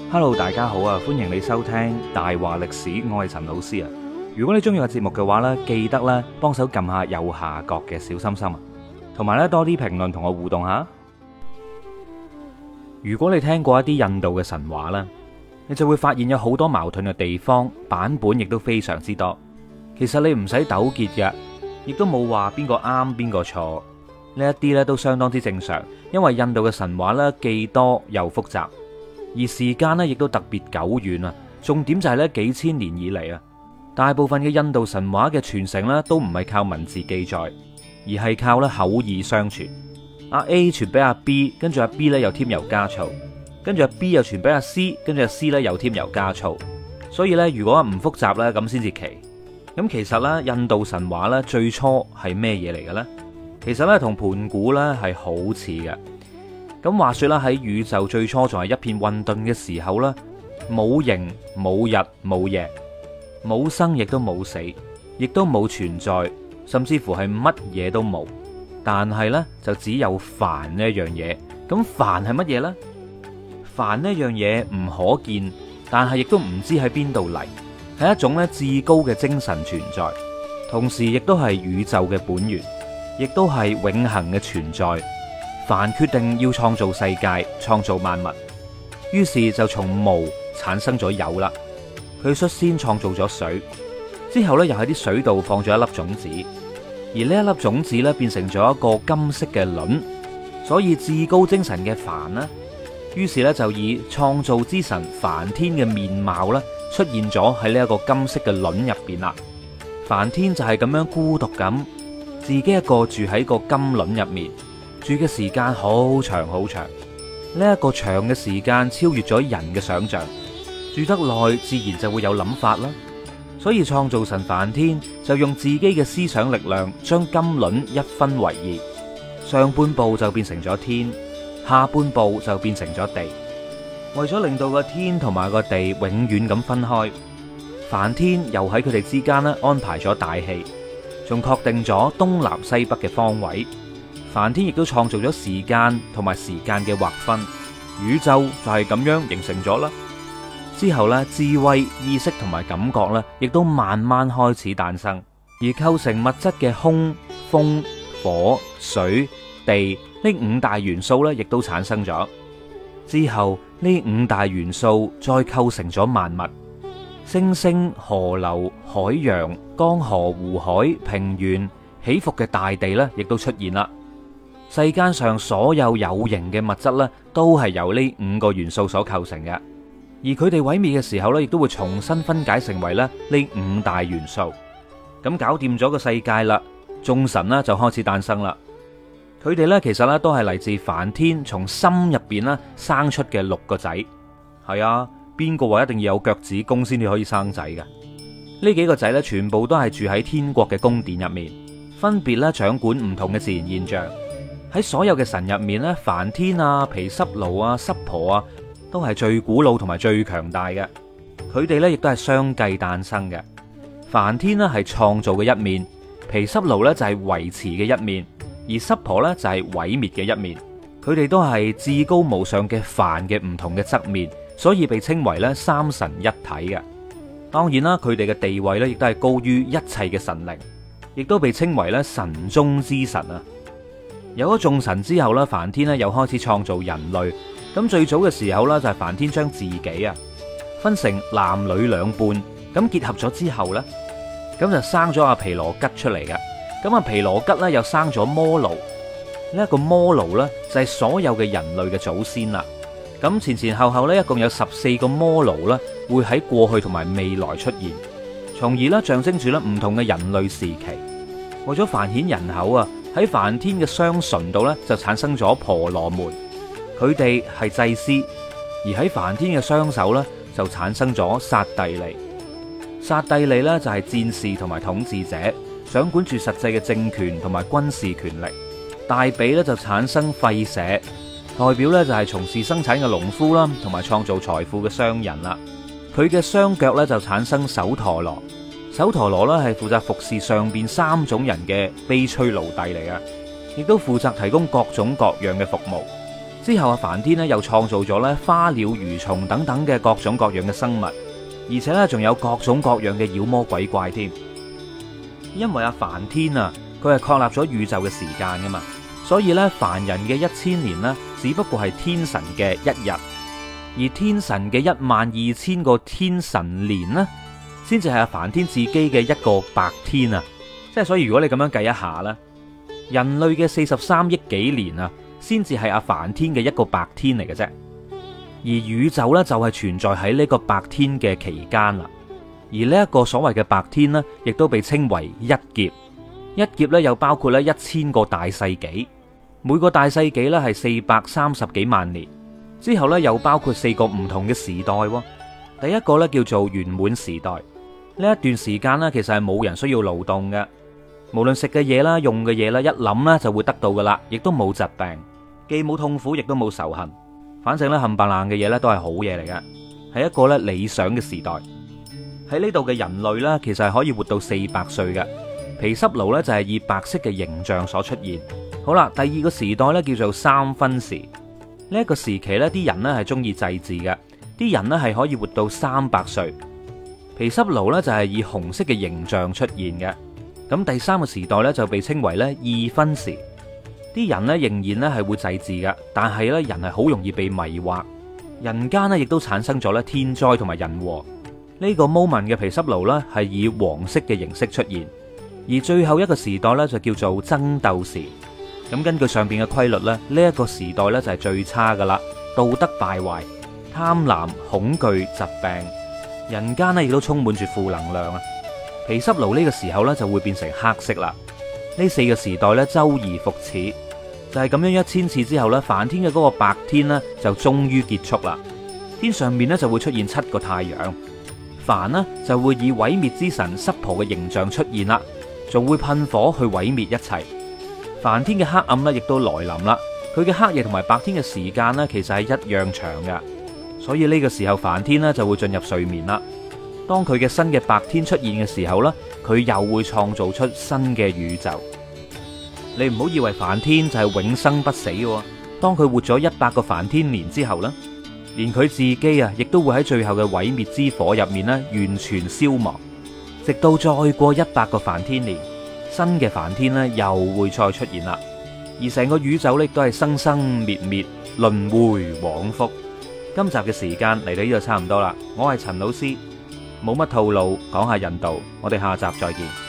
Hello，大家好啊！歡迎你收聽大話歷史，我係陳老師啊。如果你中意個節目嘅話呢，記得咧幫手撳下右下角嘅小心心啊，同埋咧多啲評論同我互動下。如果你聽過一啲印度嘅神話啦，你就會發現有好多矛盾嘅地方，版本亦都非常之多。其實你唔使糾結嘅，亦都冇話邊個啱邊個錯，呢一啲咧都相當之正常。因為印度嘅神話咧既多又複雜。而時間呢亦都特別久遠啊！重點就係呢幾千年以嚟啊，大部分嘅印度神話嘅傳承呢都唔係靠文字記載，而係靠咧口耳相傳。阿 A 傳俾阿 B， 跟住阿 B 咧又添油加醋，跟住阿 B 又傳俾阿 C， 跟住阿 C 咧又添油加醋。所以呢，如果唔複雜呢，咁先至奇。咁其實呢，印度神話呢最初係咩嘢嚟嘅呢？其實呢，同盤古呢係好似嘅。咁話說啦，喺宇宙最初仲係一片混沌嘅時候啦，冇形冇日冇夜，冇生亦都冇死，亦都冇存在，甚至乎係乜嘢都冇。但係呢，就只有梵呢一樣嘢。咁梵係乜嘢呢？梵呢一樣嘢唔可見，但係亦都唔知喺邊度嚟，係一種咧至高嘅精神存在，同時亦都係宇宙嘅本源，亦都係永恆嘅存在。梵決定要創造世界，創造萬物，於是就從無產生咗有啦。佢率先創造咗水，之後呢又喺啲水度放咗一粒種子，而呢一粒種子呢變成咗一個金色嘅卵，所以至高精神嘅梵呢，於是呢就以創造之神梵天嘅面貌呢出現咗喺呢一個金色嘅卵入邊啦。梵天就係咁樣孤獨咁，自己一個住喺個金卵入面。住嘅時間好長好長，呢一個長嘅時間超越咗人嘅想象。住得耐，自然就會有諗法啦。所以創造神梵天就用自己嘅思想力量，將金卵一分為二，上半部就變成咗天，下半部就變成咗地。為咗令到個天同埋個地永遠咁分開，梵天又喺佢哋之間咧安排咗大氣，仲確定咗東南西北嘅方位。梵天亦都創造咗時間同埋時間嘅劃分，宇宙就係咁樣形成咗啦。之後呢，智慧、意識同埋感覺呢，亦都慢慢開始誕生，而構成物質嘅空、風、火、水、地呢五大元素呢，亦都產生咗。之後呢五大元素再構成咗萬物，星星、河流、海洋、江河、湖海、平原、起伏嘅大地呢，亦都出現啦。世間上所有有形嘅物質呢，都係由呢五個元素所構成嘅，而佢哋毀滅嘅時候呢，亦都會重新分解成為咧呢五大元素。咁搞掂咗個世界啦，眾神呢就開始誕生啦。佢哋呢，其實呢都係嚟自梵天從心入邊呢生出嘅6個仔。係啊，邊個話一定要有腳趾公先至可以生仔嘅？呢幾個仔呢，全部都係住喺天國嘅宮殿入面，分別咧掌管唔同嘅自然現象。喺所有嘅神入面咧，梵天啊、毗濕奴啊、濕婆啊，都係最古老同埋最強大嘅。佢哋咧亦都係相繼誕生嘅。梵天呢係創造嘅一面，毗濕奴咧就係維持嘅一面，而濕婆咧就係毀滅嘅一面。佢哋都係至高無上嘅梵嘅唔同嘅側面，所以被稱為咧三神一體嘅。當然啦，佢哋嘅地位咧亦都係高於一切嘅神靈，亦都被稱為咧神中之神啊。有咗眾神之後咧，梵天咧又開始創造人類。咁最早嘅時候咧，就係梵天將自己啊分成男女兩半，咁結合咗之後咧，咁就生咗阿毗羅吉出嚟嘅。咁阿毗羅吉咧又生咗摩奴，呢一個摩奴咧就係所有嘅人類嘅祖先啦。咁前前後後咧一共有14個摩奴咧會喺過去同埋未來出現，從而咧象徵住咧唔同嘅人類時期。為咗繁衍人口啊，喺梵天嘅雙唇度咧就產生咗婆羅門，佢哋係祭司；而喺梵天嘅雙手咧就產生咗剎帝利。剎帝利咧就係戰士同埋統治者，掌管住實際嘅政權同埋軍事權力。大髀咧就產生吠舍，代表咧就係從事生產嘅農夫啦，同埋創造財富嘅商人啦。佢嘅雙腳咧就產生首陀羅。首陀羅咧係負責服侍上邊3種人嘅悲催奴隸嚟嘅，亦都負責提供各種各樣嘅服務。 之後梵天咧又創造咗咧花鳥魚蟲等等嘅各種各樣嘅生物，而且咧仲有各種各樣嘅妖魔鬼怪添。因為梵天啊，佢係確立咗宇宙嘅時間噶嘛，所以咧凡人嘅1000年呢，只不過係天神嘅1日，而天神嘅12000個天神年呢，先至係梵天自己嘅一個白天啊！即係所以如果你咁樣計一下啦，人類嘅43億幾年啊，先至係梵天嘅一個白天嚟嘅啫。而宇宙呢，就係存在喺呢個白天嘅期間啦。而呢一個所謂嘅白天呢，亦都被稱為一劫。一劫呢，又包括咧1000個大世紀，每個大世紀呢係430幾萬年。之後呢，又包括4個唔同嘅時代。第一個呢，叫做圓滿時代。呢一段時間呢，其實係冇人需要勞動嘅，無論食嘅嘢啦、用嘅嘢啦，一諗呢就會得到噶啦，亦都冇疾病，既冇痛苦，亦都冇仇恨。反正咧冚唪唥嘅嘢呢都係好嘢嚟嘅，係一個咧理想嘅時代。喺呢度嘅人類呢，其實係可以活到400歲嘅。毗濕奴呢，就係以白色嘅形象所出現。好啦，第二個時代呢，叫做三分時。呢一個時期呢，啲人呢係中意祭祀嘅，啲人呢係可以活到300歲。毗濕奴呢，就係以紅色嘅形象出現嘅。咁第三個時代呢，就被稱為呢二分時。啲人呢，仍然呢係會祭祀嘅，但係呢，人係好容易被迷惑，人間呢，亦都產生咗呢天災同埋人禍。呢個 moment 嘅毗濕奴呢，係以黃色嘅形式出現。而最後一個時代呢，就叫做爭鬥時。咁根據上邊嘅規律呢，呢一個時代呢，就係最差噶啦，道德敗壞、貪婪、恐懼、疾病，人間呢亦都充滿住負能量啊！毗濕奴呢個時候呢，就會變成黑色啦。呢4個時代呢，周而復始，就係咁樣1000次之後呢，梵天嘅嗰個白天呢，就終於結束啦。天上面呢，就會出現7個太陽，梵呢，就會以毀滅之神濕婆嘅形象出現啦，仲會噴火去毀滅一切。梵天嘅黑暗呢，亦都來臨啦。佢嘅黑夜同埋白天嘅時間呢，其實係一樣長嘅，所以呢個時候梵天呢，就會進入睡眠啦。當佢嘅新嘅白天出現嘅時候呢，佢又會創造出新嘅宇宙。你唔好以為梵天就係永生不死嘅，當佢活咗100個梵天年之後呢，連佢自己啊，亦都會喺最後嘅毀滅之火入面呢，完全消亡，直到再過100個梵天年，新嘅梵天呢又會再出現啦。而成個宇宙呢都係生生滅滅，輪迴往復。今集嘅時間嚟到呢度差唔多啦，我係陳老師，冇乜套路，講下印度，我哋下集再見。